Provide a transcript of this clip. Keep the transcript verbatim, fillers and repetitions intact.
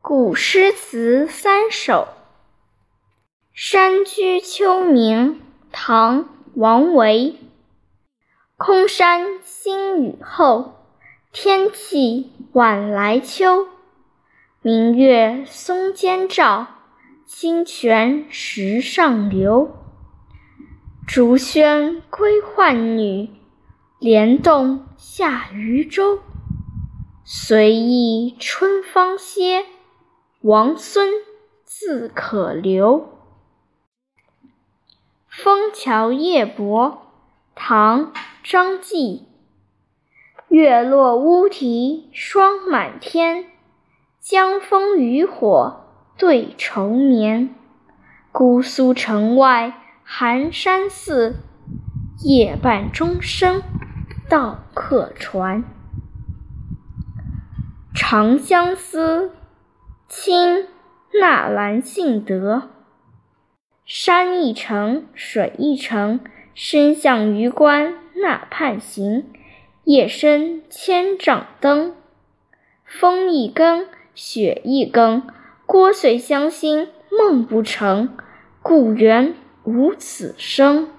古诗词三首。山居秋暝，唐·王维。空山新雨后，天气晚来秋。明月松间照，清泉石上流。竹喧归浣女，莲动下渔舟。随意春芳歇，王孙自可留。枫桥夜泊，唐·张继。月落乌啼霜满天，江枫渔火对愁眠。姑苏城外寒山寺，夜半钟声到客船。长相思，清·纳兰性德。山一程，水一程，身向榆关那畔行。夜深千帐灯，风一更，雪一更。聒碎乡心梦不成，故园无此声。